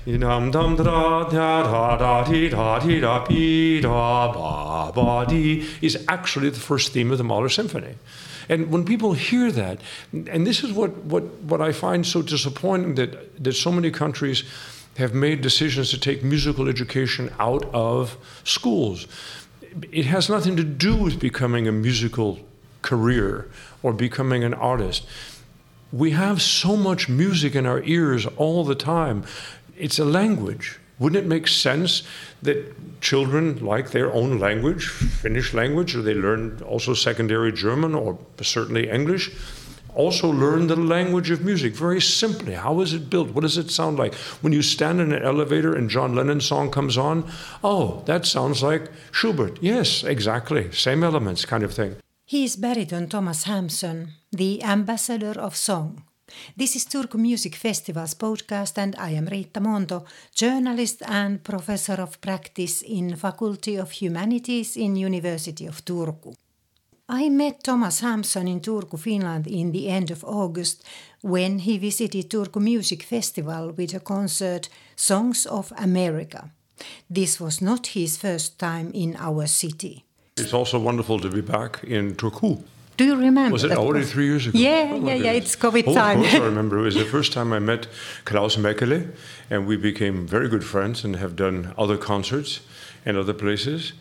Dum dum da da da da dee da dee da dee da ba ba dee is actually the first theme of the Mahler Symphony. And when people hear that, and this is what I find so disappointing, that so many countries have made decisions to take musical education out of schools. It has nothing to do with becoming a musical career or becoming an artist. We have so much music in our ears all the time. It's a language. Wouldn't it make sense that children like their own language, Finnish language, or they learn also secondary German or certainly English, also learn the language of music very simply? How is it built? What does it sound like? When you stand in an elevator and John Lennon's song comes on, oh, that sounds like Schubert. Yes, exactly. Same elements kind of thing. He is baritone Thomas Hampson, the ambassador of song. This is Turku Music Festival's podcast, and I am Riitta Monto, journalist and professor of practice in Faculty of Humanities in University of Turku. I met Thomas Hampson in Turku, Finland in the end of August when he visited Turku Music Festival with a concert, Songs of America. This was not his first time in our city. It's also wonderful to be back in Turku. Do you remember? Was it already 3 years ago? Yeah, it's COVID time. Of course I remember. It was the first time I met Klaus Mekele, and we became very good friends and have done other concerts in other places.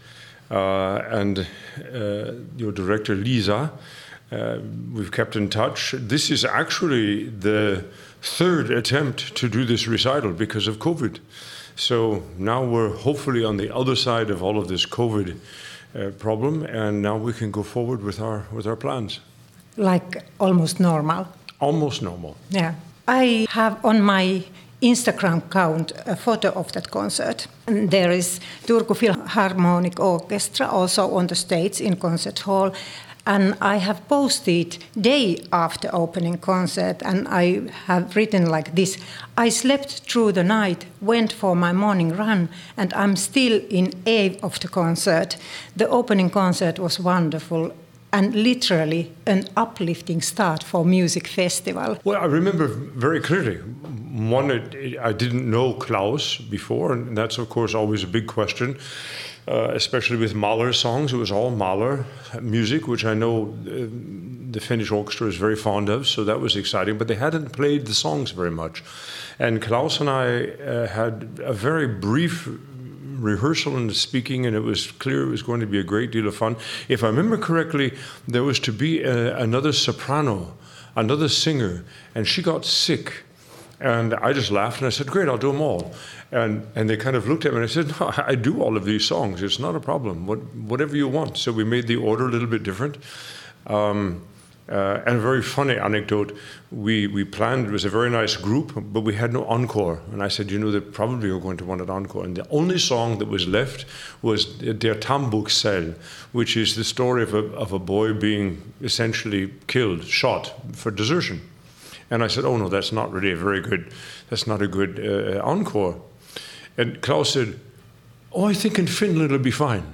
Your director, Lisa, we've kept in touch. This is actually the third attempt to do this recital because of COVID. So now we're hopefully on the other side of all of this COVID problem, and now we can go forward with our plans. Like almost normal? Almost normal. Yeah. I have on my Instagram account a photo of that concert. And there is Turku Philharmonic Orchestra also on the stage in concert hall. And I have posted day after opening concert, and I have written like this: I slept through the night, went for my morning run, and I'm still in awe of the concert. The opening concert was wonderful and literally an uplifting start for music festival. Well, I remember very clearly. One, I didn't know Klaus before, and that's of course always a big question. Especially with Mahler songs. It was all Mahler music, which I know the Finnish orchestra is very fond of, so that was exciting, but they hadn't played the songs very much. And Klaus and I had a very brief rehearsal and speaking, and it was clear it was going to be a great deal of fun. If I remember correctly, there was to be another soprano, another singer, and she got sick. And I just laughed and I said, great, I'll do them all. And they kind of looked at me and I said, no, I do all of these songs. It's not a problem. Whatever you want. So we made the order a little bit different. And a very funny anecdote, we planned, it was a very nice group, but we had no encore. And I said, they probably are going to want an encore. And the only song that was left was Der Tambuksel, which is the story of a boy being essentially killed, shot for desertion. And I said, oh no, that's not really that's not a good encore. And Klaus said, oh, I think in Finland it'll be fine.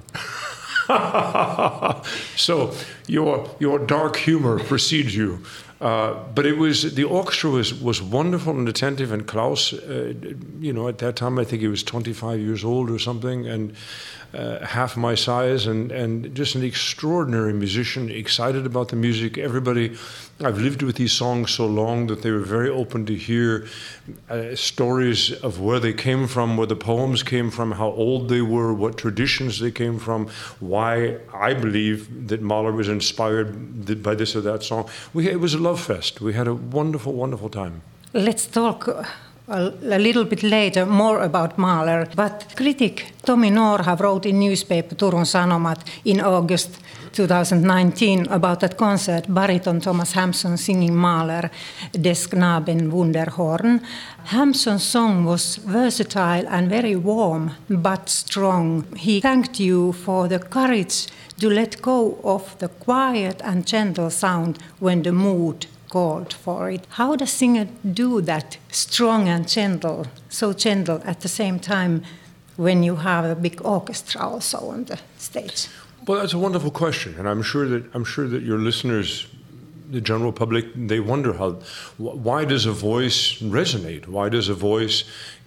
So your dark humor precedes you. But the orchestra was wonderful and attentive, and Klaus, at that time I think he was 25 years old or something, and half my size, and just an extraordinary musician, excited about the music. Everybody, I've lived with these songs so long that they were very open to hear stories of where they came from, where the poems came from, how old they were, what traditions they came from, why I believe that Mahler was inspired by this or that song. It was a love fest. We had a wonderful, wonderful time. Let's talk a little bit later more about Mahler, but critic Tomi Norha wrote in newspaper Turun Sanomat in August 2019 about that concert, baritone Thomas Hampson singing Mahler, Des Knaben Wunderhorn. Hampson's song was versatile and very warm but strong. He thanked you for the courage to let go of the quiet and gentle sound when the mood called for it. How does a singer do that, strong and gentle, so gentle at the same time when you have a big orchestra also on the stage? Well, that's a wonderful question, and I'm sure that your listeners, the general public, they wonder why does a voice resonate? Why does a voice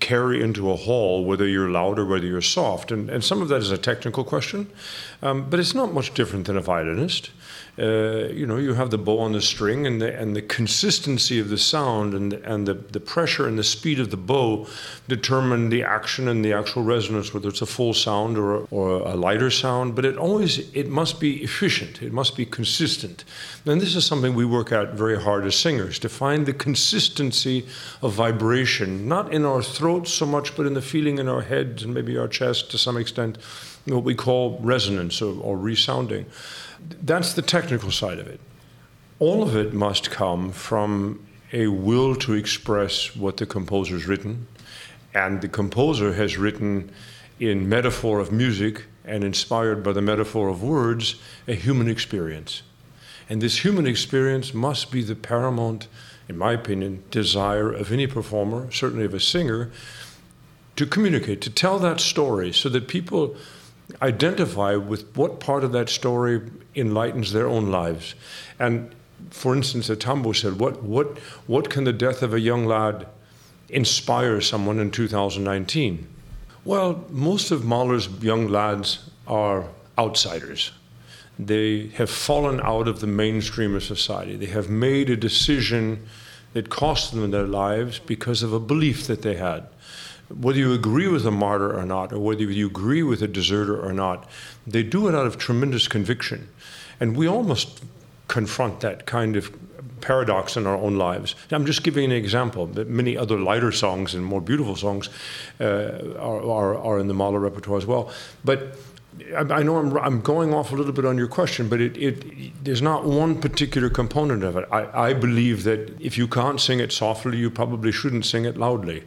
carry into a hall, whether you're loud or whether you're soft. And some of that is a technical question, but it's not much different than a violinist. You have the bow on the string, and the consistency of the sound and the pressure and the speed of the bow determine the action and the actual resonance, whether it's a full sound or a lighter sound. But it must be efficient. It must be consistent. And this is something we work at very hard as singers, to find the consistency of vibration, not in our throats so much, but in the feeling in our heads and maybe our chest to some extent, what we call resonance or resounding. That's the technical side of it. All of it must come from a will to express what the composer's written, and the composer has written in metaphor of music and inspired by the metaphor of words, a human experience. And this human experience must be the paramount, in my opinion, desire of any performer, certainly of a singer, to communicate, to tell that story so that people identify with what part of that story enlightens their own lives. And for instance, Tambo said, what can the death of a young lad inspire someone in 2019? Well, most of Mahler's young lads are outsiders. They have fallen out of the mainstream of society. They have made a decision that cost them their lives because of a belief that they had. Whether you agree with a martyr or not, or whether you agree with a deserter or not, they do it out of tremendous conviction. And we all must confront that kind of paradox in our own lives. I'm just giving an example, but many other lighter songs and more beautiful songs are in the Mahler repertoire as well. But I know I'm going off a little bit on your question, but there's not one particular component of it. I believe that if you can't sing it softly, you probably shouldn't sing it loudly.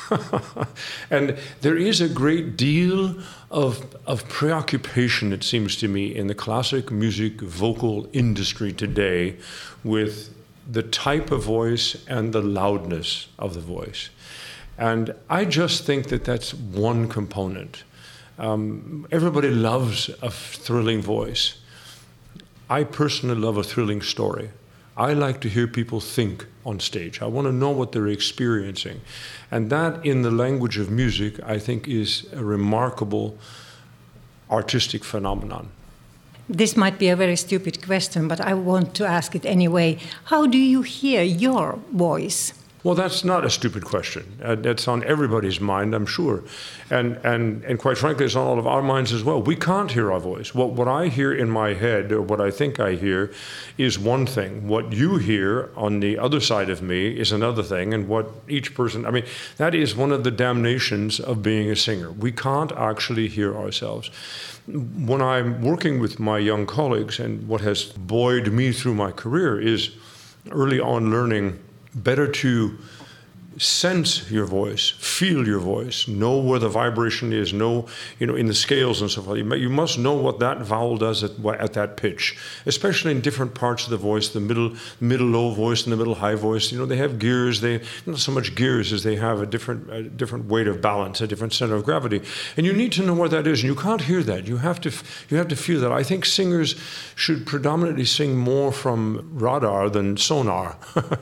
And there is a great deal of preoccupation, it seems to me, in the classic music vocal industry today with the type of voice and the loudness of the voice. And I just think that that's one component. Everybody loves a thrilling voice. I personally love a thrilling story. I like to hear people think on stage. I want to know what they're experiencing. And that, in the language of music, I think is a remarkable artistic phenomenon. This might be a very stupid question, but I want to ask it anyway. How do you hear your voice? Well, that's not a stupid question. That's on everybody's mind, I'm sure. And quite frankly, it's on all of our minds as well. We can't hear our voice. What I hear in my head, or what I think I hear, is one thing. What you hear on the other side of me is another thing. And what each person, that is one of the damnations of being a singer. We can't actually hear ourselves. When I'm working with my young colleagues, and what has buoyed me through my career is early on learning better to sense your voice, feel your voice, know where the vibration is, know, in the scales and so forth. You must know what that vowel does at that pitch, especially in different parts of the voice, the middle low voice and the middle high voice. They have gears. They not so much gears as they have a different weight of balance, a different center of gravity. And you need to know where that is. And you can't hear that. You have to feel that. I think singers should predominantly sing more from radar than sonar.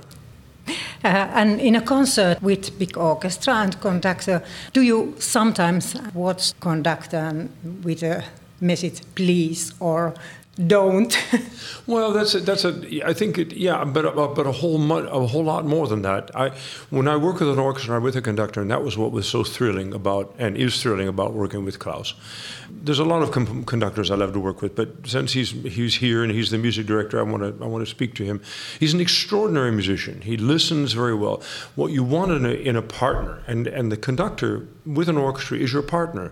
And in a concert with big orchestra and conductor, do you sometimes watch conductor with a message, please, or don't? Well, I think but a whole lot more than that. When I work with an orchestra or with a conductor, and that was what was so thrilling about, and is thrilling about working with Klaus. There's a lot of conductors I love to work with, but since he's here and he's the music director, I want to speak to him. He's an extraordinary musician. He listens very well. What you want in a partner, and the conductor with an orchestra is your partner.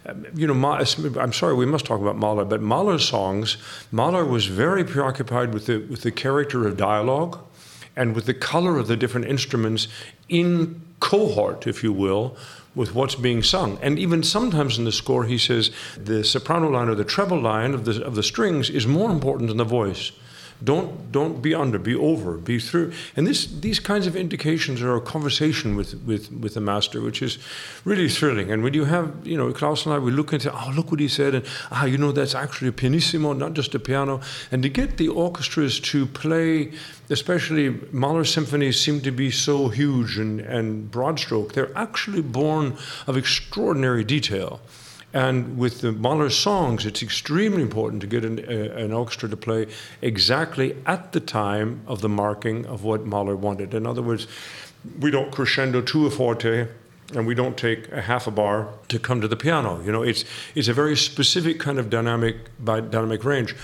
I'm sorry, we must talk about Mahler, but Mahler's songs, Mahler was very preoccupied with the character of dialogue and with the color of the different instruments in cohort, if you will, with what's being sung. And even sometimes in the score, he says the soprano line or the treble line of the strings is more important than the voice. Don't be under, be over, be through. And these kinds of indications are a conversation with the master, which is really thrilling. And when you have, Klaus and I, we look and say, oh, look what he said, and that's actually a pianissimo, not just a piano. And to get the orchestras to play, especially Mahler symphonies seem to be so huge and broad stroke, they're actually born of extraordinary detail. And with the Mahler songs, it's extremely important to get an orchestra to play exactly at the time of the marking of what Mahler wanted. In other words, we don't crescendo to a forte, and we don't take a half a bar to come to the piano. It's a very specific kind of dynamic range.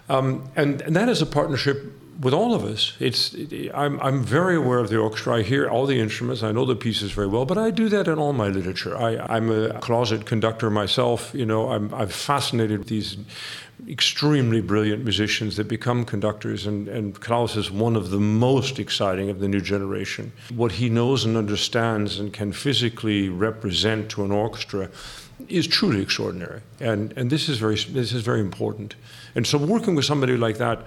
And that is a partnership with all of us. I'm very aware of the orchestra. I hear all the instruments. I know the pieces very well, but I do that in all my literature. I'm a closet conductor myself. I'm fascinated with these extremely brilliant musicians that become conductors, and Klaus is one of the most exciting of the new generation. What he knows and understands and can physically represent to an orchestra is truly extraordinary, and this is very important. And so working with somebody like that,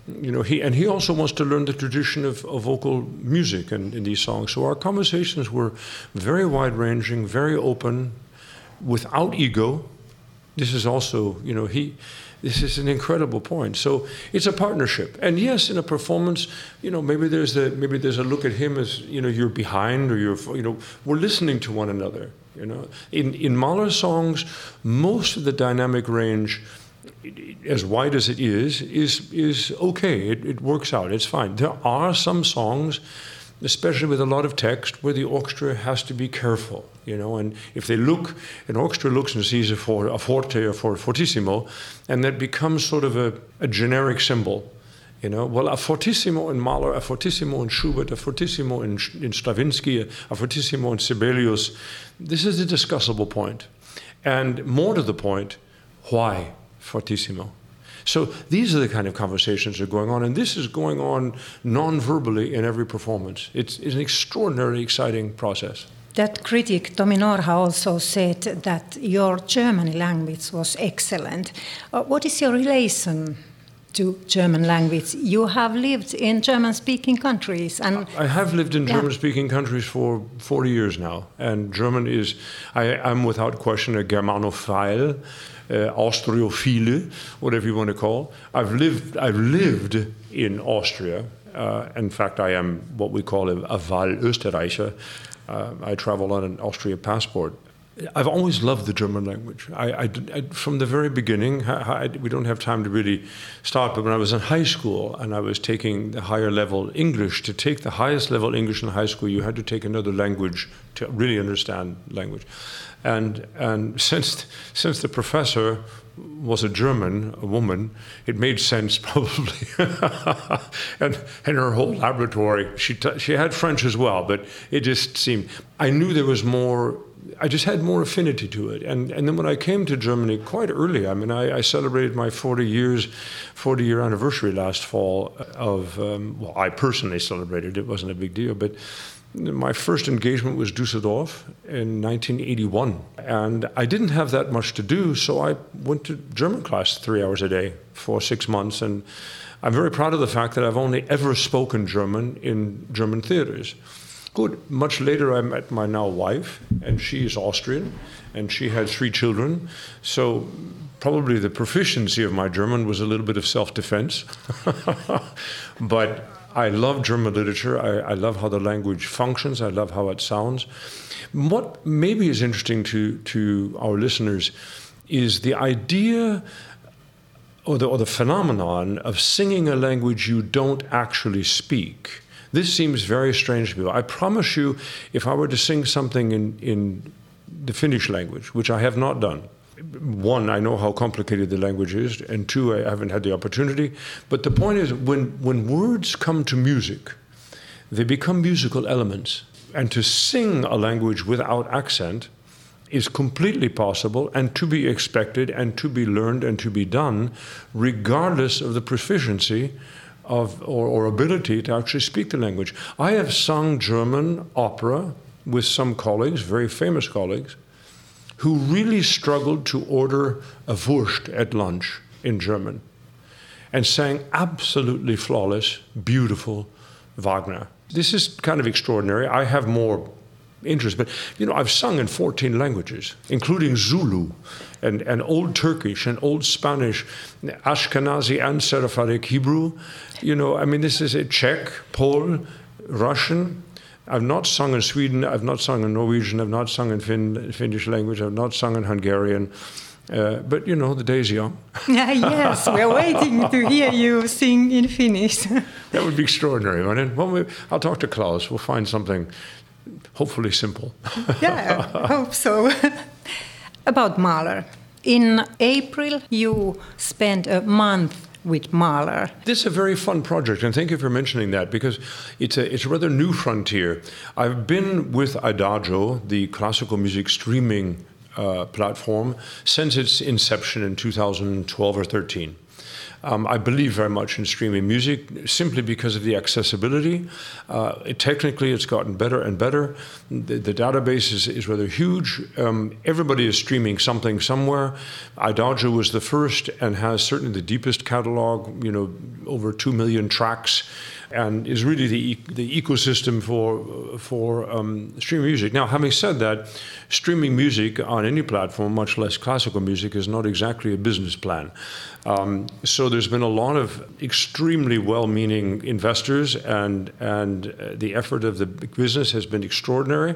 he also wants to learn the tradition of vocal music in these songs. So our conversations were very wide-ranging, very open, without ego. This is also, this is an incredible point. So it's a partnership. And yes, in a performance, maybe there's a look at him as, you're behind, or we're listening to one another. In Mahler songs, most of the dynamic range, as wide as it is okay. It works out. It's fine. There are some songs, especially with a lot of text, where the orchestra has to be careful, and if an orchestra looks and sees a forte or fortissimo, and that becomes sort of a generic symbol, well, a fortissimo in Mahler, a fortissimo in Schubert, a fortissimo in Stravinsky, a fortissimo in Sibelius, this is a discussable point. And more to the point, why fortissimo? So these are the kind of conversations that are going on, and this is going on non-verbally in every performance. It's an extraordinarily exciting process. That critic, Tomi Norha, also said that your German language was excellent. What is your relation to German language? You have lived in German-speaking countries. I have lived in German-speaking countries for 40 years now, and German is, I'm without question a Germanophile, Austrophiles, whatever you want to call. I've lived in Austria. In fact, I am what we call a Wahlösterreicher. I travel on an Austrian passport. I've always loved the German language. I from the very beginning, we don't have time to really start, but when I was in high school and I was taking the higher level English, to take the highest level English in high school, you had to take another language to really understand language. And since the professor was a woman, it made sense probably. and her whole laboratory, she had French as well, but it just seemed, I knew there was more. I just had more affinity to it. And then when I came to Germany quite early, I celebrated my 40-year anniversary last fall of, I personally celebrated, it wasn't a big deal, but my first engagement was Düsseldorf in 1981. And I didn't have that much to do, so I went to German class 3 hours a day for 6 months. And I'm very proud of the fact that I've only ever spoken German in German theaters. Good. Much later, I met my now wife, and she is Austrian, and she had 3 children. So probably the proficiency of my German was a little bit of self-defense. But I love German literature. I love how the language functions. I love how it sounds. What maybe is interesting to our listeners is the idea or the phenomenon of singing a language you don't actually speak. This seems very strange to people. I promise you, if I were to sing something in the Finnish language, which I have not done, 1, I know how complicated the language is, and 2, I haven't had the opportunity. But the point is, when words come to music, they become musical elements. And to sing a language without accent is completely possible and to be expected and to be learned and to be done, regardless of the proficiency of or ability to actually speak the language. I have sung German opera with some colleagues, very famous colleagues, who really struggled to order a Wurst at lunch in German. and sang absolutely flawless, beautiful Wagner. This is kind of extraordinary. I have more interest, but I've sung in 14 languages, including Zulu and Old Turkish and Old Spanish, Ashkenazi and Sephardic Hebrew. This is a Czech, Pole, Russian. I've not sung in Sweden, I've not sung in Norwegian, I've not sung in Finnish language, I've not sung in Hungarian. But the day's young. Yes, we're waiting to hear you sing in Finnish. That would be extraordinary, wouldn't it? Well, I'll talk to Klaus. We'll find something hopefully simple. Yeah, I hope so. About Mahler. In April, you spent a month with Mahler. This is a very fun project, and thank you for mentioning that, because it's a rather new frontier. I've been with Adagio, the classical music streaming platform, since its inception in 2012 or 13. I believe very much in streaming music simply because of the accessibility. Technically, it's gotten better and better. The database is rather huge. Everybody is streaming something somewhere. Adagio was the first and has certainly the deepest catalog, over 2 million tracks, and is really the ecosystem for streaming music. Now, having said that, streaming music on any platform, much less classical music, is not exactly a business plan. So there's been a lot of extremely well-meaning investors, and the effort of the business has been extraordinary.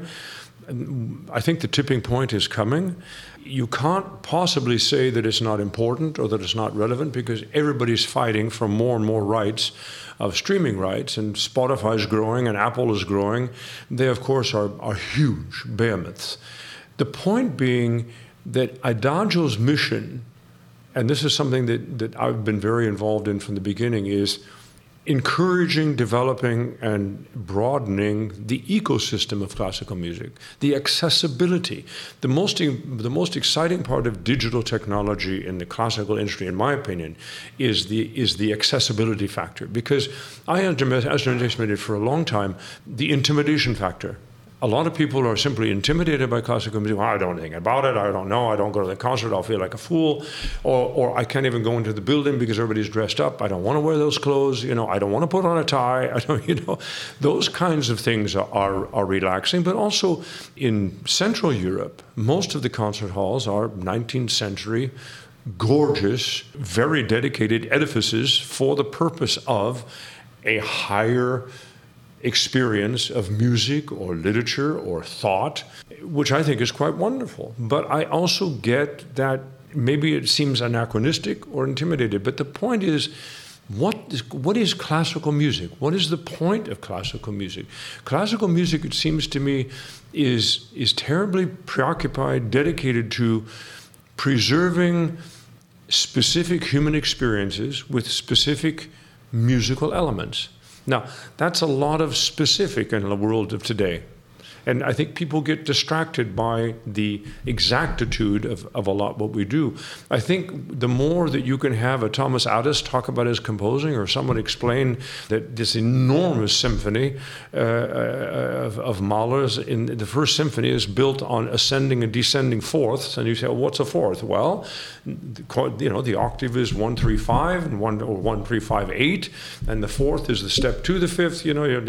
I think the tipping point is coming. You can't possibly say that it's not important or that it's not relevant, because everybody's fighting for more and more rights of streaming rights, and Spotify is growing and Apple is growing. They, of course, are huge behemoths. The point being that Adagio's mission, and this is something that I've been very involved in from the beginning, is encouraging, developing, and broadening the ecosystem of classical music, the accessibility. The most exciting part of digital technology in the classical industry, in my opinion, is the accessibility factor. Because I underestimated for a long time the intimidation factor. A lot of people are simply intimidated by classical music. Well, I don't know anything about it. I don't know. I don't go to the concert. I'll feel like a fool. Or I can't even go into the building because everybody's dressed up. I don't want to wear those clothes. I don't want to put on a tie. Those kinds of things are relaxing. But also in Central Europe, most of the concert halls are 19th century, gorgeous, very dedicated edifices for the purpose of a higher experience of music or literature or thought, which I think is quite wonderful. But I also get that maybe it seems anachronistic or intimidated. But the point is, what is classical music? What is the point of classical music? Classical music, it seems to me, is terribly preoccupied, dedicated to preserving specific human experiences with specific musical elements. Now, that's a lot of specific in the world of today. And I think people get distracted by the exactitude of a lot what we do. I think the more that you can have a Thomas Adès talk about his composing, or someone explain that this enormous symphony of Mahler's, in the first symphony, is built on ascending and descending fourths, and you say, well, what's a fourth? Well, the octave is 1-3-5 and 1-3-5-8, and the fourth is the step to the fifth.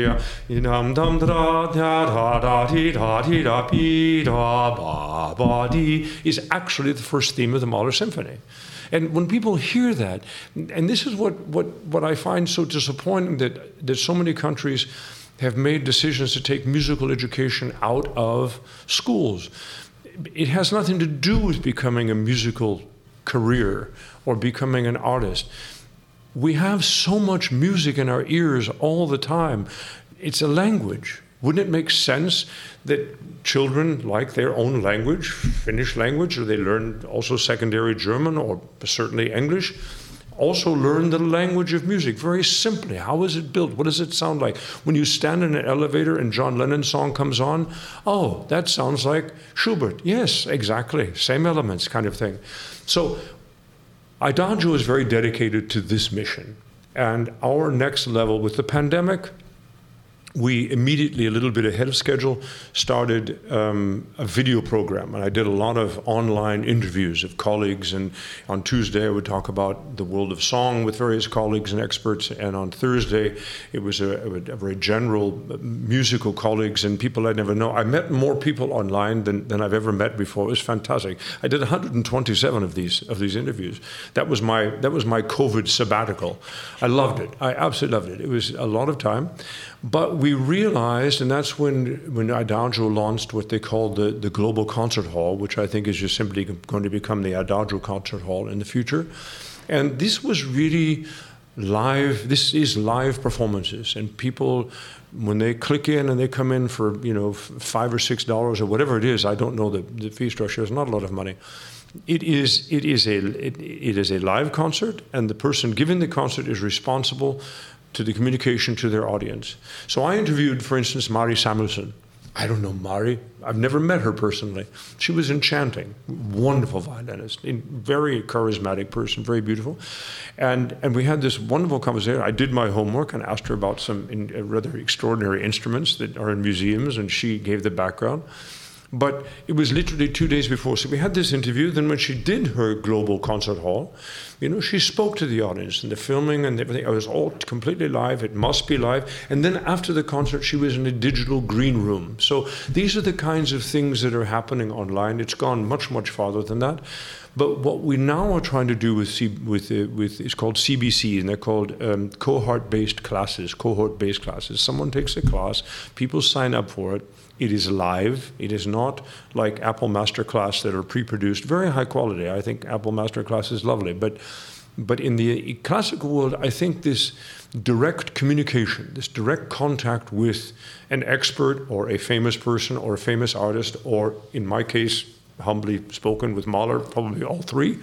Is actually the first theme of the Mahler Symphony. And when people hear that, and this is what I find so disappointing, that so many countries have made decisions to take musical education out of schools. It has nothing to do with becoming a musical career or becoming an artist. We have so much music in our ears all the time. It's a language. Wouldn't it make sense that children like their own language, Finnish language, or they learn also secondary German or certainly English, also learn the language of music very simply? How is it built? What does it sound like? When you stand in an elevator and John Lennon's song comes on, oh, that sounds like Schubert. Yes, exactly. Same elements kind of thing. So Adagio is very dedicated to this mission. And our next level with the pandemic, we immediately, a little bit ahead of schedule, started a video program. And I did a lot of online interviews of colleagues. And on Tuesday, I would talk about the world of song with various colleagues and experts. And on Thursday, it was a very general musical colleagues and people I'd never know. I met more people online than I've ever met before. It was fantastic. I did 127 of these interviews. That was my COVID sabbatical. I loved it. I absolutely loved it. It was a lot of time. But we realized, and that's when Adagio launched what they called the Global Concert Hall, which I think is just simply going to become the Adagio Concert Hall in the future. And this was really live. This is live performances, and people, when they click in and they come in for $5 or $6 or whatever it is, I don't know the fee structure. It's not a lot of money. It is a live concert, and the person giving the concert is responsible to the communication to their audience. So I interviewed, for instance, Mari Samuelson. I don't know Mari. I've never met her personally. She was enchanting, wonderful violinist, very charismatic person, very beautiful. And we had this wonderful conversation. I did my homework and asked her about some rather extraordinary instruments that are in museums, and she gave the background. But it was literally 2 days before. So we had this interview. Then when she did her global concert hall, she spoke to the audience and the filming and everything. It was all completely live. It must be live. And then after the concert, she was in a digital green room. So these are the kinds of things that are happening online. It's gone much, much farther than that. But what we now are trying to do with it's called CBC, and they're called cohort-based classes. Someone takes a class, people sign up for it. It is live. It is not like Apple Masterclass that are pre-produced, very high quality. I think Apple Masterclass is lovely, but in the classical world, I think this direct communication, this direct contact with an expert or a famous person or a famous artist, or in my case, humbly spoken with Mahler, probably all three,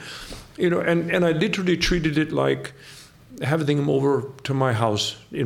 and I literally treated it like having them over to my house in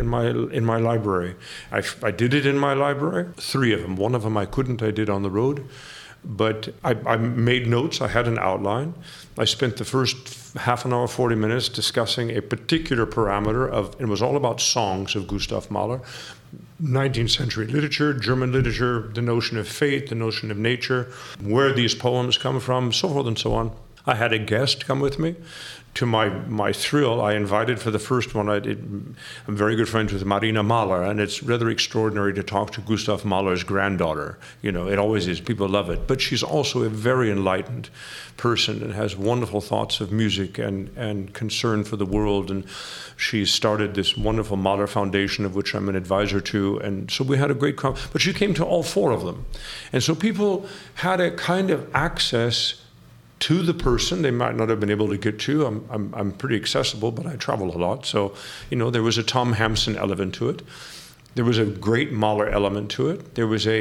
my library. I did it in my library, 3 of them. 1 of them I couldn't. I did on the road, but I made notes. I had an outline. I spent the first half an hour, 40 minutes discussing a particular parameter it was all about songs of Gustav Mahler. 19th century literature, German literature, the notion of fate, the notion of nature, where these poems come from, so forth and so on. I had a guest come with me. To my thrill, I invited for the first one, I'm very good friends with Marina Mahler, and it's rather extraordinary to talk to Gustav Mahler's granddaughter. It always is. People love it. But she's also a very enlightened person and has wonderful thoughts of music and concern for the world. And she started this wonderful Mahler Foundation, of which I'm an advisor to. And so we had a great but she came to all 4 of them. And so people had a kind of access to the person they might not have been able to get to. I'm pretty accessible, but I travel a lot. So, there was a Tom Hampson element to it. There was a great Mahler element to it. There was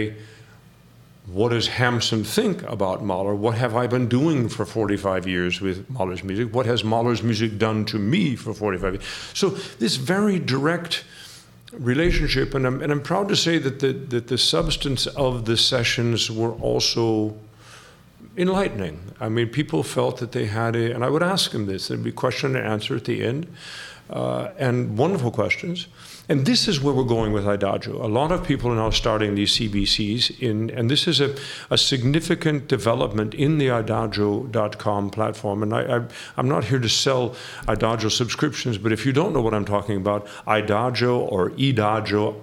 what does Hampson think about Mahler? What have I been doing for 45 years with Mahler's music? What has Mahler's music done to me for 45 years? So this very direct relationship, and I'm proud to say that the substance of the sessions were also enlightening. I mean, people felt that they had and I would ask them this, there'd be question and answer at the end, and wonderful questions. And this is where we're going with Adagio. A lot of people are now starting these CBCs and this is a significant development in the Adagio.com platform. And I'm not here to sell Adagio subscriptions, but if you don't know what I'm talking about, Adagio or Idagio,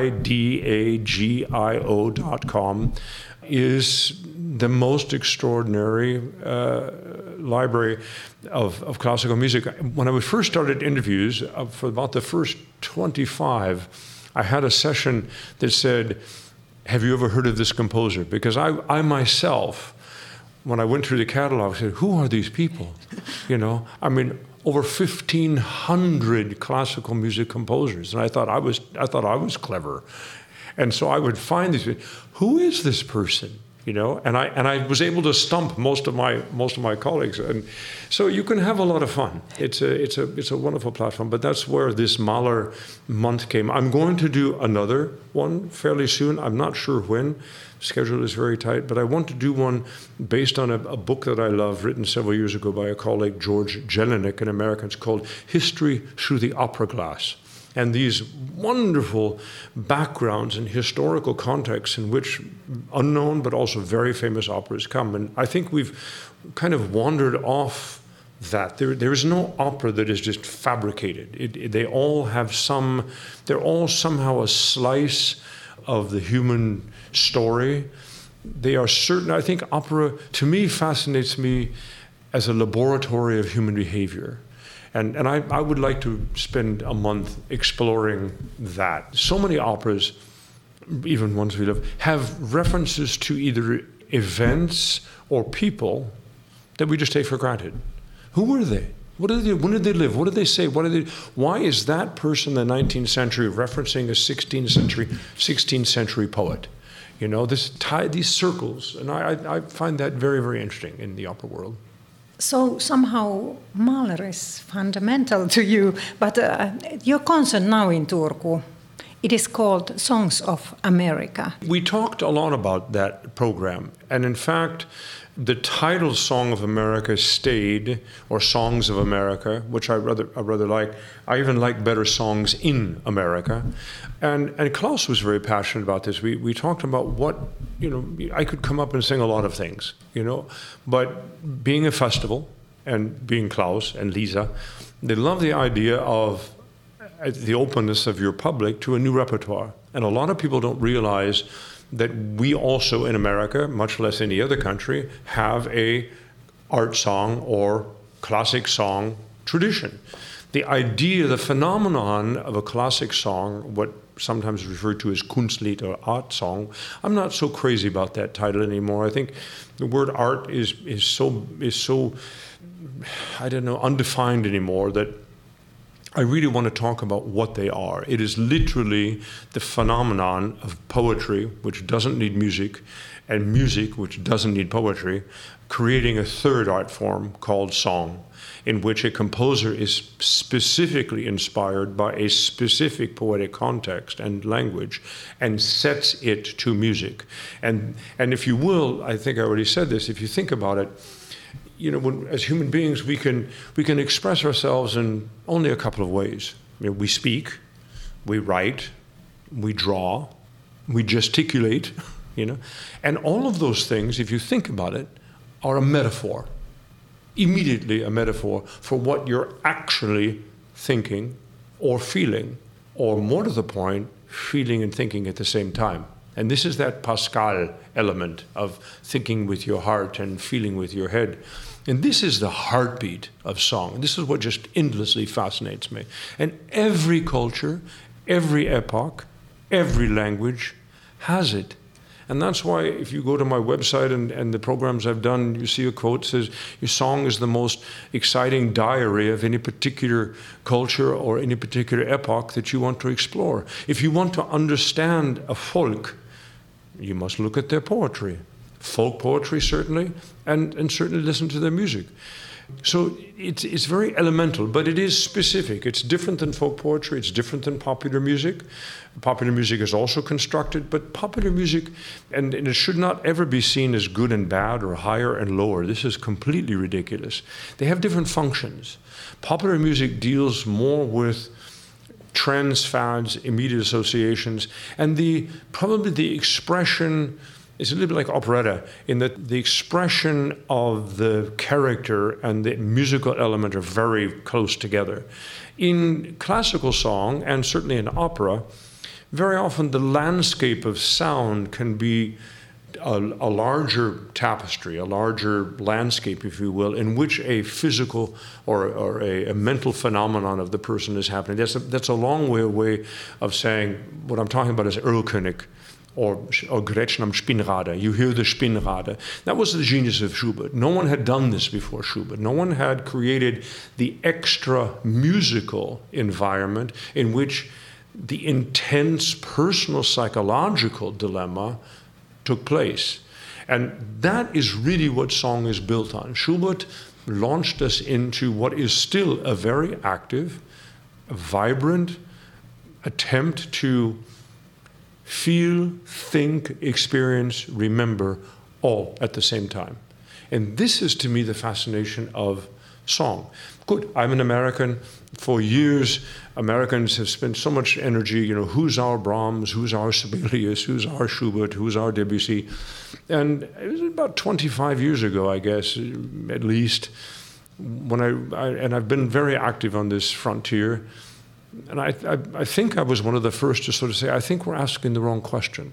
IDAGIO.com is the most extraordinary library of classical music. When I first started interviews, for about the first 25, I had a session that said, have you ever heard of this composer? Because I myself, when I went through the catalog, I said, who are these people? Over 1,500 classical music composers. And I thought I was clever. And so I would find these people. Who is this person? And I was able to stump most of my colleagues, and so you can have a lot of fun. It's a wonderful platform, but that's where this Mahler month came. I'm going to do another one fairly soon. I'm not sure when. Schedule is very tight, but I want to do one based on a book that I love, written several years ago by a colleague, George Jelinek, an American. It's called History Through the Opera Glass. and these wonderful backgrounds and historical contexts in which unknown but also very famous operas come. And I think we've kind of wandered off that. There is no opera that is just fabricated. They're all somehow a slice of the human story. They are certain. I think opera, to me, fascinates me as a laboratory of human behavior. And I would like to spend a month exploring that. So many operas, even ones we love, have references to either events or people that we just take for granted. Who were they? What did they do? When did they live? What did they say? Why is that person in the 19th century referencing a 16th century poet? You know, these circles. And I find that very, very interesting in the opera world. So somehow Mahler is fundamental to you, but your concert now in Turku, it is called Songs of America. We talked a lot about that program, and in fact, the title Song of America stayed, or Songs of America, which I rather like. I even like better Songs in America. And Klaus was very passionate about this. We talked about what, I could come up and sing a lot of things, but being a festival and being Klaus and Lisa, they love the idea of the openness of your public to a new repertoire. And a lot of people don't realize that we also in America, much less any other country, have a art song or classic song tradition. The idea, the phenomenon of a classic song, what sometimes referred to as Kunstlied or art song, I'm not so crazy about that title anymore. I think the word art is so I don't know, undefined anymore that I really want to talk about what they are. It is literally the phenomenon of poetry, which doesn't need music, and music, which doesn't need poetry, creating a third art form called song, in which a composer is specifically inspired by a specific poetic context and language and sets it to music. And if you will, I think I already said this, if you think about it, as human beings, we can express ourselves in only a couple of ways. We speak, we write, we draw, we gesticulate, and all of those things, if you think about it, are a metaphor, immediately a metaphor for what you're actually thinking or feeling, or more to the point, feeling and thinking at the same time. And this is that Pascal element of thinking with your heart and feeling with your head. And this is the heartbeat of song. And this is what just endlessly fascinates me. And every culture, every epoch, every language has it. And that's why if you go to my website and the programs I've done, you see a quote that says, your song is the most exciting diary of any particular culture or any particular epoch that you want to explore. If you want to understand a folk, you must look at their poetry. Folk poetry, certainly, and certainly listen to their music. So it's very elemental, but it is specific. It's different than folk poetry. It's different than popular music. Popular music is also constructed, but popular music, and it should not ever be seen as good and bad or higher and lower. This is completely ridiculous. They have different functions. Popular music deals more with trends, fads, immediate associations, and probably the expression is a little bit like operetta in that the expression of the character and the musical element are very close together. In classical song, and certainly in opera, very often the landscape of sound can be a larger tapestry, a larger landscape, if you will, in which a physical or a mental phenomenon of the person is happening. That's a long way away of saying what I'm talking about is Erlkönig or Gretchen am Spinnrade. You hear the Spinnrade. That was the genius of Schubert. No one had done this before Schubert. No one had created the extra musical environment in which the intense personal psychological dilemma took place. And that is really what song is built on. Schubert launched us into what is still a very active, vibrant attempt to feel, think, experience, remember all at the same time. And this is to me the fascination of song. Good, I'm an American. For years, Americans have spent so much energy, who's our Brahms, who's our Sibelius, who's our Schubert, who's our Debussy. And it was about 25 years ago, I guess, at least, when I've been very active on this frontier. And I think I was one of the first to sort of say, I think we're asking the wrong question.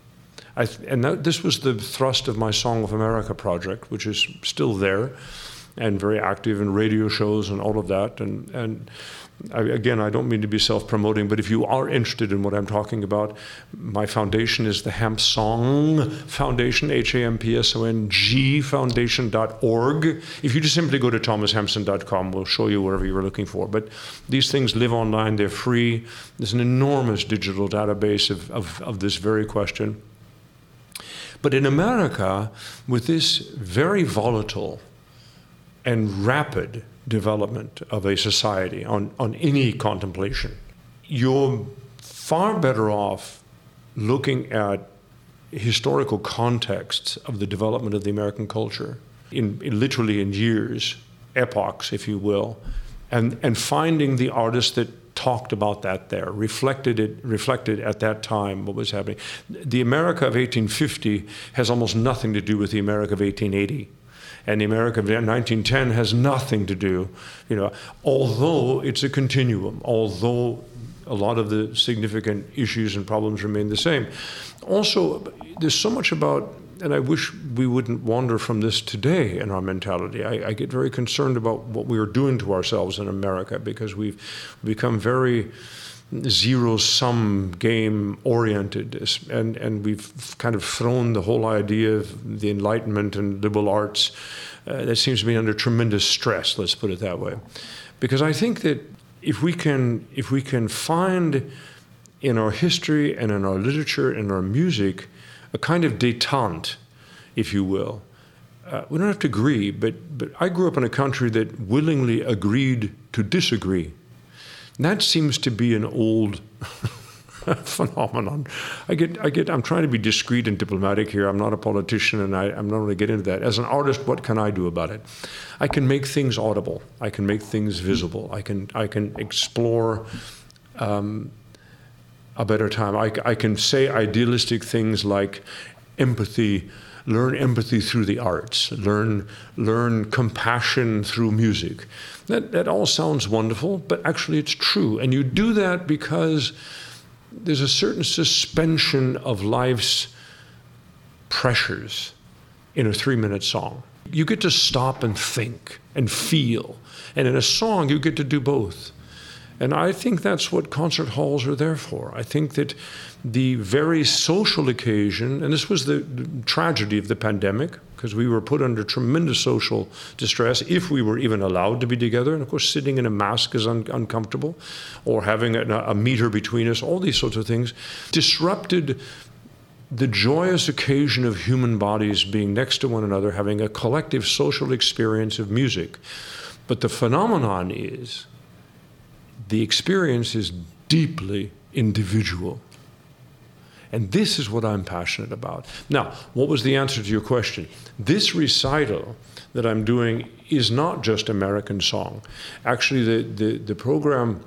This was the thrust of my Song of America project, which is still there and very active in radio shows and all of that. And I don't mean to be self-promoting, but if you are interested in what I'm talking about, my foundation is the Hampsong Foundation, HAMPSONG Foundation.org. If you just simply go to thomashampson.com, we'll show you wherever you're looking for. But these things live online, they're free. There's an enormous digital database of this very question. But in America, with this very volatile and rapid development of a society on any contemplation, you're far better off looking at historical contexts of the development of the American culture, literally in years, epochs, if you will, and finding the artists that talked about that there, reflected at that time what was happening. The America of 1850 has almost nothing to do with the America of 1880. And the America of 1910 has nothing to do, although it's a continuum, although a lot of the significant issues and problems remain the same. Also, there's so much about, and I wish we wouldn't wander from this today in our mentality. I get very concerned about what we are doing to ourselves in America because we've become very zero-sum game oriented, and we've kind of thrown the whole idea of the Enlightenment and liberal arts that seems to be under tremendous stress, let's put it that way. Because I think that if we can find in our history and in our literature and our music a kind of détente, if you will, we don't have to agree, but I grew up in a country that willingly agreed to disagree. That seems to be an old phenomenon. I'm trying to be discreet and diplomatic here. I'm not a politician, and I'm not going to get into that. As an artist, what can I do about it? I can make things audible. I can make things visible. I can explore a better time. I can say idealistic things like empathy. Learn empathy through the arts. Learn compassion through music. That all sounds wonderful, but actually it's true. And you do that because there's a certain suspension of life's pressures in a 3-minute song. You get to stop and think and feel. And in a song, you get to do both. And I think that's what concert halls are there for. I think that the very social occasion, and this was the tragedy of the pandemic, because we were put under tremendous social distress if we were even allowed to be together. And of course, sitting in a mask is uncomfortable, or having a meter between us, all these sorts of things disrupted the joyous occasion of human bodies being next to one another, having a collective social experience of music. But the phenomenon is, the experience is deeply individual. And this is what I'm passionate about. Now, what was the answer to your question? This recital that I'm doing is not just American song. Actually, the program,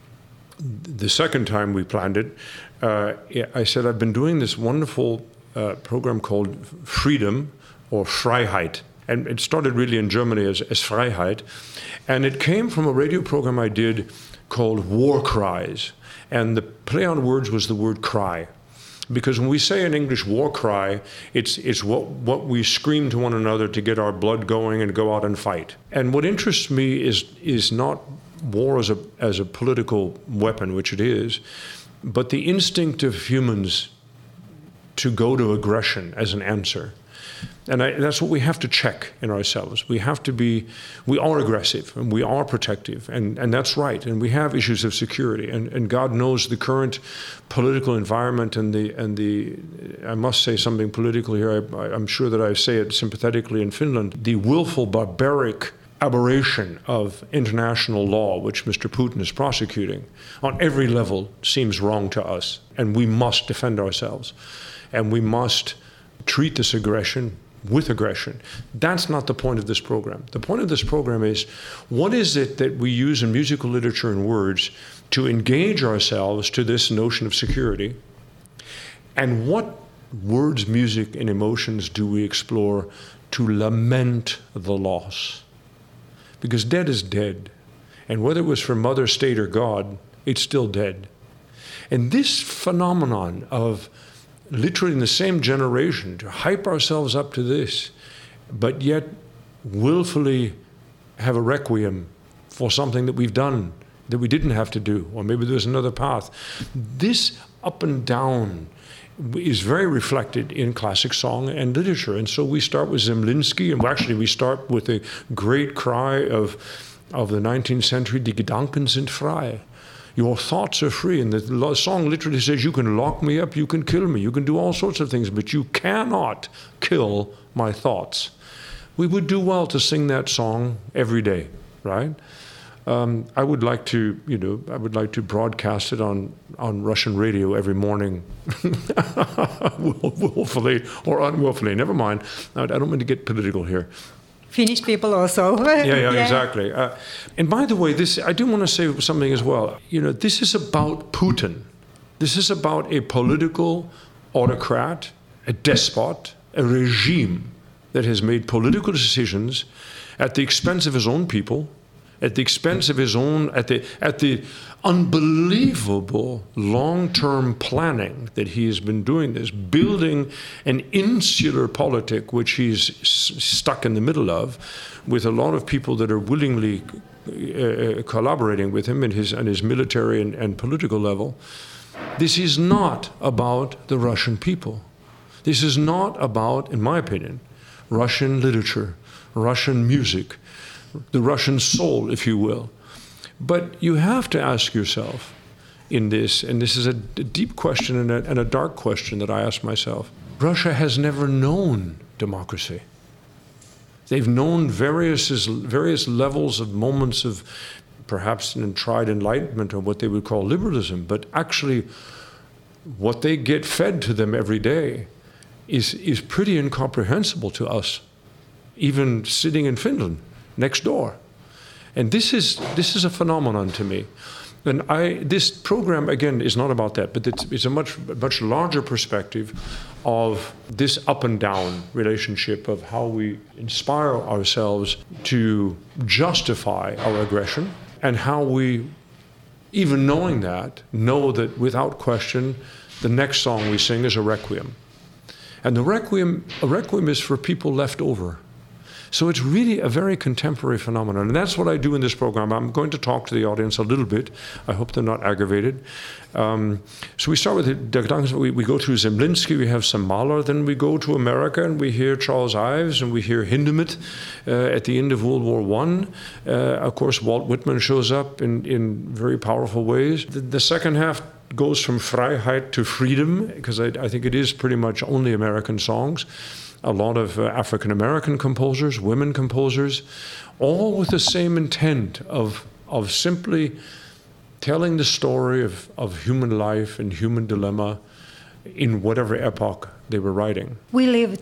the second time we planned it, I said I've been doing this wonderful program called Freedom or Freiheit. And it started really in Germany as Freiheit. And it came from a radio program I did called War Cries. And the play on words was the word cry. Because when we say in English war cry, it's what we scream to one another to get our blood going and go out and fight. And what interests me is not war as a political weapon, which it is, but the instinct of humans to go to aggression as an answer. And that's what we have to check in ourselves. We are aggressive and we are protective, and that's right. And we have issues of security, and God knows the current political environment and the I must say something political here. I'm sure that I say it sympathetically in Finland. The willful, barbaric aberration of international law, which Mr. Putin is prosecuting on every level, seems wrong to us, and we must defend ourselves, and we must treat this aggression with aggression. That's not the point of this program. The point of this program is, what is it that we use in musical literature and words to engage ourselves to this notion of security? And what words, music, and emotions do we explore to lament the loss? Because dead is dead. And whether it was for Mother, State, or God, it's still dead. And this phenomenon of literally in the same generation to hype ourselves up to this, but yet willfully have a requiem for something that we've done that we didn't have to do, or maybe there's another path. This up and down is very reflected in classic song and literature. And so we start with Zemlinsky, and actually we start with the great cry of the 19th century, Die Gedanken sind frei. Your thoughts are free. And the song literally says, you can lock me up, you can kill me, you can do all sorts of things, but you cannot kill my thoughts. We would do well to sing that song every day, right? I would like to, broadcast it on Russian radio every morning, willfully or unwillfully. Never mind. I don't mean to get political here. Finnish people also. Yeah, exactly. And by the way, I do want to say something as well. This is about Putin. This is about a political autocrat, a despot, a regime that has made political decisions at the expense of his own people, at the expense of his own, at the unbelievable long-term planning that he has been doing this, building an insular politic which he's stuck in the middle of, with a lot of people that are willingly collaborating with him on his military and political level. This is not about the Russian people. This is not about, in my opinion, Russian literature, Russian music, the Russian soul, if you will. But you have to ask yourself in this, and this is a deep question and a dark question that I ask myself, Russia has never known democracy. They've known various levels of moments of perhaps an tried enlightenment or what they would call liberalism, but actually what they get fed to them every day is pretty incomprehensible to us, even sitting in Finland next door. And this is a phenomenon to me. And this program, again, is not about that, but it's a much larger perspective of this up and down relationship of how we inspire ourselves to justify our aggression, and how we, even knowing that, know that without question, the next song we sing is a requiem. And a requiem is for people left over. So it's really a very contemporary phenomenon. And that's what I do in this program. I'm going to talk to the audience a little bit. I hope they're not aggravated. So we start with we go through Zemlinsky, we have some Mahler, then we go to America and we hear Charles Ives and we hear Hindemith at the end of World War I. Of course, Walt Whitman shows up in very powerful ways. The second half goes from Freiheit to freedom, because I think it is pretty much only American songs. A lot of African-American composers, women composers, all with the same intent of simply telling the story of human life and human dilemma in whatever epoch they were writing. We live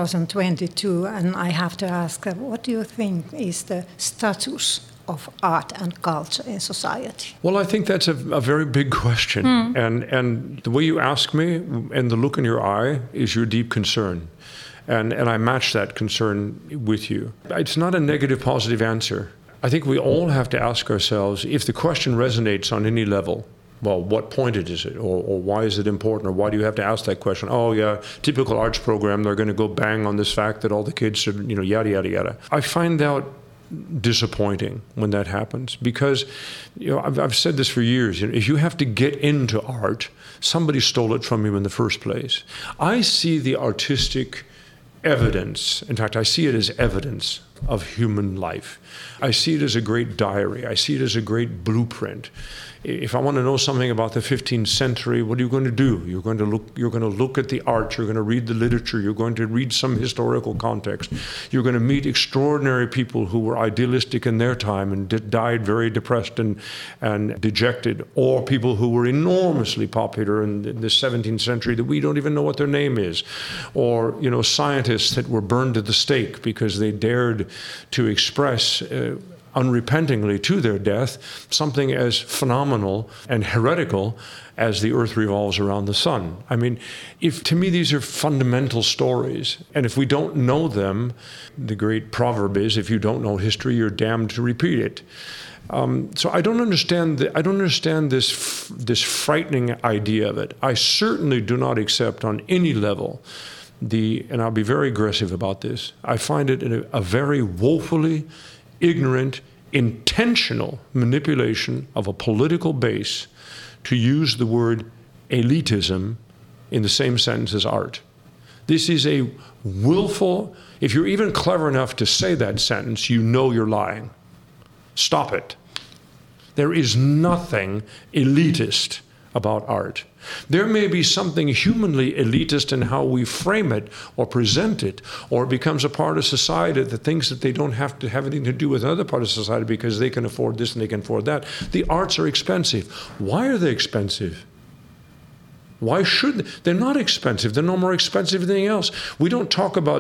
2022, and I have to ask, what do you think is the status of art and culture in society? Well, I think that's a very big question. And the way you ask me and the look in your eye is your deep concern. And I match that concern with you. It's not a negative, positive answer. I think we all have to ask ourselves, if the question resonates on any level, well, what point is it? Or why is it important? Or why do you have to ask that question? Oh, yeah, typical arts program, they're going to go bang on this fact that all the kids should, yada, yada, yada. I find that disappointing when that happens, because I've said this for years. If you have to get into art, somebody stole it from you in the first place. I see the artistic evidence, in fact, I see it as evidence of human life. I see it as a great diary. I see it as a great blueprint. If I want to know something about the 15th century, what are you going to do? You're going to look at the art, you're going to read the literature, you're going to read some historical context. You're going to meet extraordinary people who were idealistic in their time and died very depressed and dejected, or people who were enormously popular in the 17th century that we don't even know what their name is, or scientists that were burned at the stake because they dared to express unrepentingly to their death something as phenomenal and heretical as the earth revolves around the sun. I mean, to me these are fundamental stories, and if we don't know them, the great proverb is, if you don't know history, you're damned to repeat it. So I don't understand this frightening idea of it. I certainly do not accept on any level and I'll be very aggressive about this, I find it a very woefully ignorant, intentional manipulation of a political base to use the word elitism in the same sentence as art. This is a willful, if you're even clever enough to say that sentence, you're lying. Stop it. There is nothing elitist about art. There may be something humanly elitist in how we frame it or present it, or it becomes a part of society that thinks that they don't have to have anything to do with another part of society because they can afford this and they can afford that. The arts are expensive. Why are they expensive? Why should they? They're not expensive. They're no more expensive than anything else. We don't talk about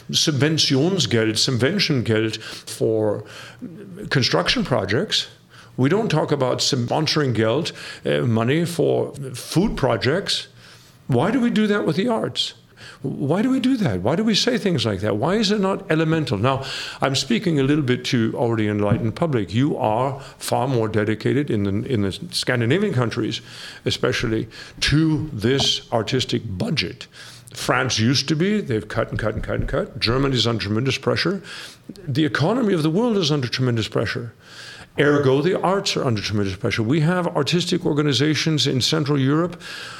Subventiongeld for construction projects. We don't talk about sponsoring Geld, money for food projects. Why do we do that with the arts? Why do we do that? Why do we say things like that? Why is it not elemental? Now, I'm speaking a little bit to already enlightened public. You are far more dedicated in the Scandinavian countries, especially, to this artistic budget. France used to be. They've cut and cut and cut and cut. Germany is under tremendous pressure. The economy of the world is under tremendous pressure. Ergo, the arts are under tremendous pressure. We have artistic organizations in Central Europe,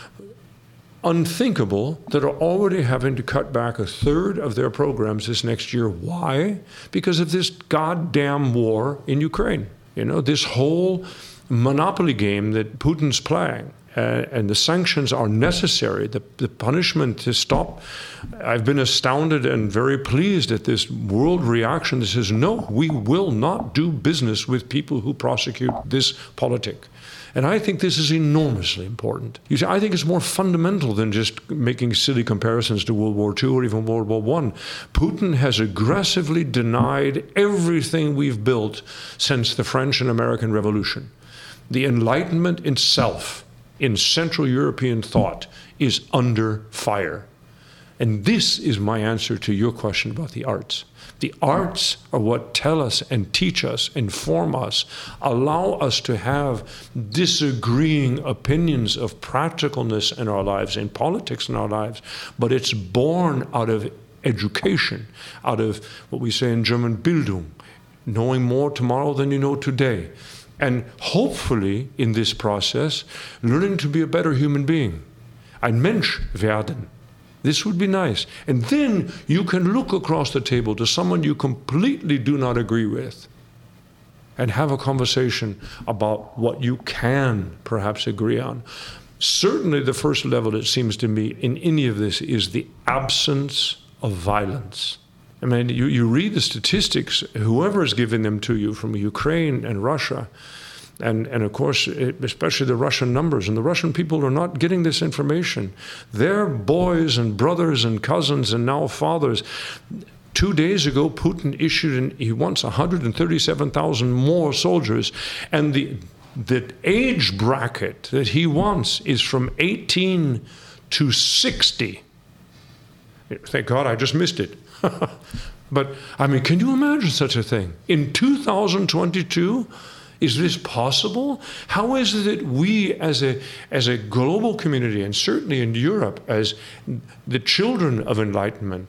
unthinkable, that are already having to cut back a third of their programs this next year. Why? Because of this goddamn war in Ukraine. This whole monopoly game that Putin's playing. And the sanctions are necessary, the punishment to stop. I've been astounded and very pleased at this world reaction that says, no, we will not do business with people who prosecute this politic. And I think this is enormously important. You see, I think it's more fundamental than just making silly comparisons to World War II or even World War I. Putin has aggressively denied everything we've built since the French and American Revolution. The Enlightenment itself in Central European thought is under fire. And this is my answer to your question about the arts. The arts are what tell us and teach us, inform us, allow us to have disagreeing opinions of practicalness in our lives, in politics in our lives, but it's born out of education, out of what we say in German, Bildung, knowing more tomorrow than you know today. And hopefully, in this process, learning to be a better human being. Ein Mensch werden. This would be nice. And then you can look across the table to someone you completely do not agree with and have a conversation about what you can perhaps agree on. Certainly the first level, it seems to me, in any of this is the absence of violence. I mean, you read the statistics, whoever is giving them to you from Ukraine and Russia, and of course, especially the Russian numbers, and the Russian people are not getting this information. Their boys and brothers and cousins and now fathers. 2 days ago, Putin issued, he wants 137,000 more soldiers, and the age bracket that he wants is from 18 to 60. Thank God I just missed it. But, I mean, can you imagine such a thing? In 2022, is this possible? How is it that we as a global community, and certainly in Europe as the children of enlightenment,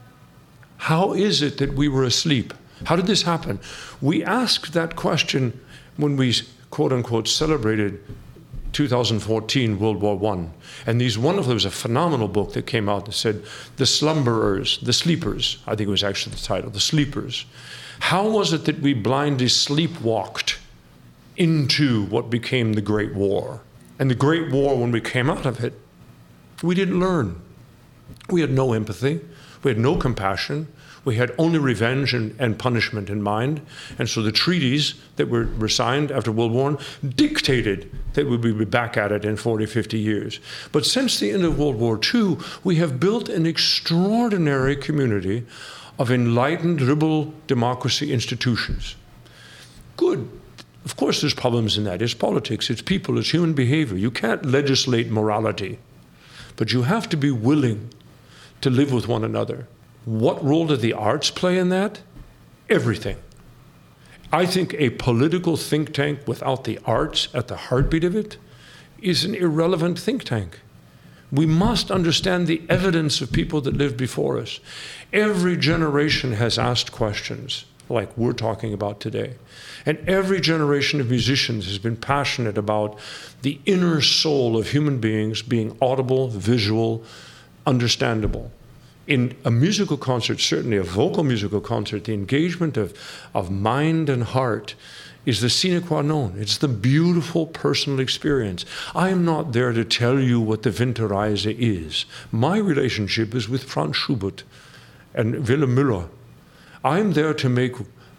how is it that we were asleep? How did this happen? We asked that question when we, quote unquote, celebrated 2014, World War I. And there was a phenomenal book that came out that said, The Slumberers, the Sleepers, I think it was actually the title, The Sleepers. How was it that we blindly sleepwalked into what became the Great War? And the Great War, when we came out of it, we didn't learn. We had no empathy. We had no compassion. We had only revenge and punishment in mind. And so the treaties that were signed after World War I dictated that we would be back at it in 40, 50 years. But since the end of World War II, we have built an extraordinary community of enlightened liberal democracy institutions. Good. Of course there's problems in that. It's politics, it's people, it's human behavior. You can't legislate morality, but you have to be willing to live with one another. What role did the arts play in that? Everything. I think a political think tank without the arts at the heartbeat of it is an irrelevant think tank. We must understand the evidence of people that lived before us. Every generation has asked questions like we're talking about today. And every generation of musicians has been passionate about the inner soul of human beings being audible, visual, understandable. In a musical concert, certainly a vocal musical concert, the engagement of mind and heart is the sine qua non. It's the beautiful personal experience. I am not there to tell you what the Winterreise is. My relationship is with Franz Schubert and Willem Müller. I'm there to make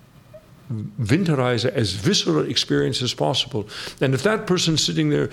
Winterreise as visceral experience as possible. And if that person sitting there,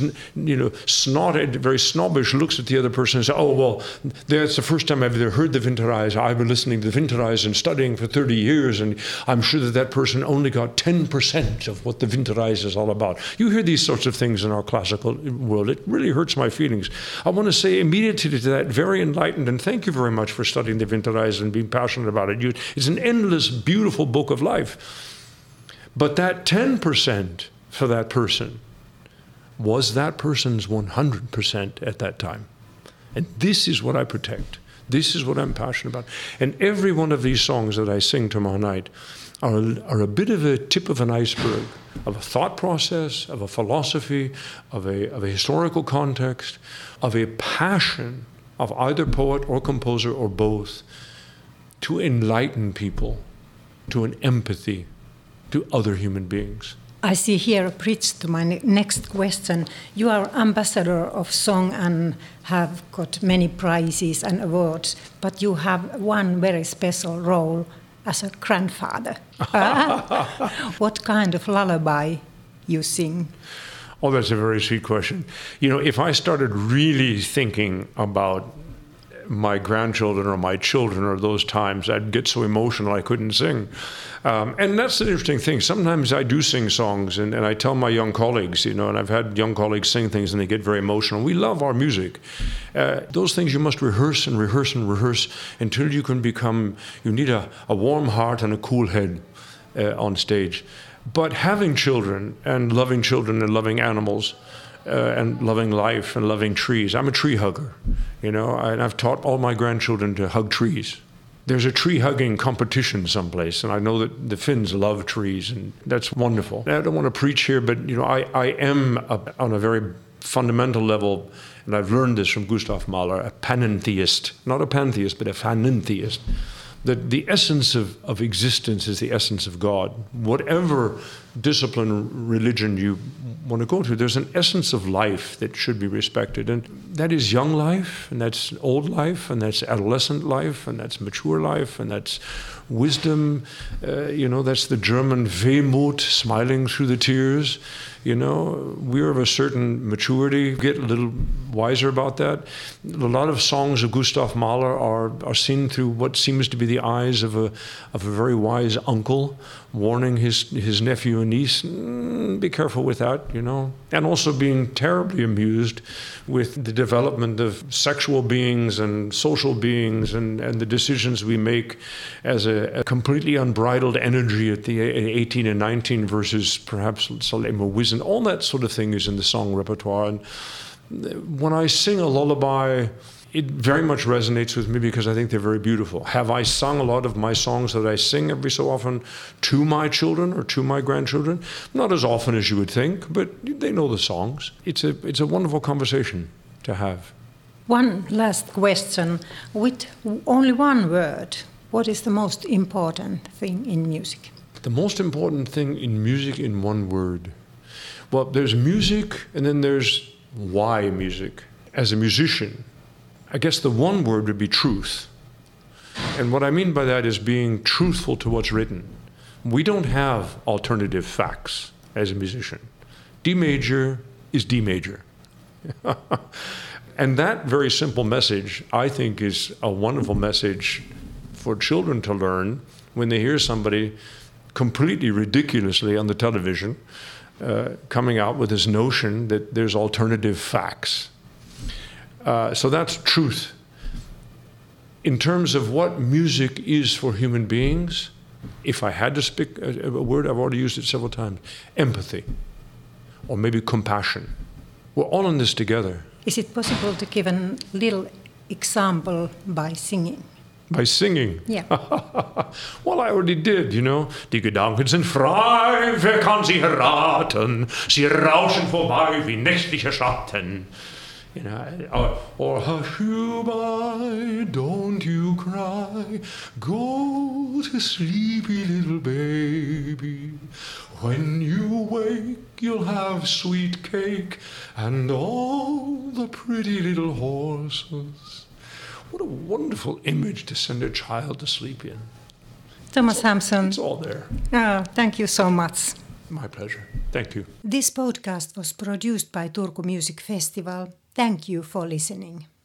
snotted, very snobbish, looks at the other person and says, oh, well, that's the first time I've ever heard the Winterreise. I've been listening to the Winterreise and studying for 30 years, and I'm sure that person only got 10% of what the Winterreise is all about. You hear these sorts of things in our classical world. It really hurts my feelings. I want to say immediately to that, very enlightened, and thank you very much for studying the Winterreise and being passionate about it. It's an endless, beautiful book of life. But that 10% for that person was that person's 100% at that time. And this is what I protect. This is what I'm passionate about. And every one of these songs that I sing tomorrow night are a bit of a tip of an iceberg, of a thought process, of a philosophy, of a historical context, of a passion of either poet or composer or both to enlighten people, to an empathy to other human beings. I see here a bridge to my next question. You are ambassador of song and have got many prizes and awards, but you have one very special role as a grandfather. What kind of lullaby you sing? Oh, that's a very sweet question. If I started really thinking about my grandchildren or my children or those times, I'd get so emotional I couldn't sing. And that's the interesting thing. Sometimes I do sing songs and I tell my young colleagues, and I've had young colleagues sing things and they get very emotional. We love our music. Those things you must rehearse and rehearse and rehearse until you need a warm heart and a cool head on stage. But having children and loving animals, and loving life and loving trees. I'm a tree hugger, and I've taught all my grandchildren to hug trees. There's a tree hugging competition someplace, and I know that the Finns love trees, and that's wonderful. I don't want to preach here, but I am on a very fundamental level, and I've learned this from Gustav Mahler, a panentheist, not a pantheist, but a panentheist. That the essence of existence is the essence of God. Whatever discipline, religion you want to go to, there's an essence of life that should be respected. And that is young life, and that's old life, and that's adolescent life, and that's mature life, and that's wisdom. That's the German Wehmut, smiling through the tears. We're of a certain maturity, get a little wiser about that. A lot of songs of Gustav Mahler are seen through what seems to be the eyes of a very wise uncle, warning his nephew and niece, be careful with that, And also being terribly amused with the development of sexual beings and social beings and the decisions we make as a completely unbridled energy at the 18 and 19 versus perhaps more wisdom. All that sort of thing is in the song repertoire. And when I sing a lullaby, it very much resonates with me because I think they're very beautiful. Have I sung a lot of my songs that I sing every so often to my children or to my grandchildren? Not as often as you would think, but they know the songs. It's a wonderful conversation to have. One last question. With only one word, what is the most important thing in music? The most important thing in music in one word. Well, there's music and then there's why music. As a musician, I guess the one word would be truth. And what I mean by that is being truthful to what's written. We don't have alternative facts as a musician. D major is D major. And that very simple message, I think, is a wonderful message for children to learn when they hear somebody completely ridiculously on the television coming out with this notion that there's alternative facts. So that's truth. In terms of what music is for human beings, if I had to speak a word, I've already used it several times, empathy, or maybe compassion. We're all in this together. Is it possible to give a little example by singing? By singing? Yeah. Well, I already did, you know. Die Gedanken sind frei, wer kann sie erraten? Sie rauschen vorbei wie nächtliche Schatten. You know, or hush you by, don't you cry, go to sleepy little baby. When you wake, you'll have sweet cake and all the pretty little horses. What a wonderful image to send a child to sleep in. Thomas Hampson. It's all there. Oh, thank you so much. My pleasure. Thank you. This podcast was produced by Turku Music Festival. Thank you for listening.